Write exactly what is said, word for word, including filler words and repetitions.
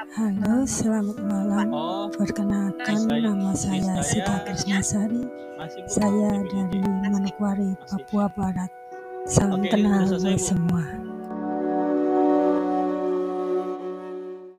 Halo, selamat malam. Oh, Perkenalkan, saya nama di saya Sita saya Krisnasari. masih, Bu, Saya di dari Filipina, Manokwari, masih. Papua Barat. Salam Oke, ini udah kenal selesai, buat Bu. semua.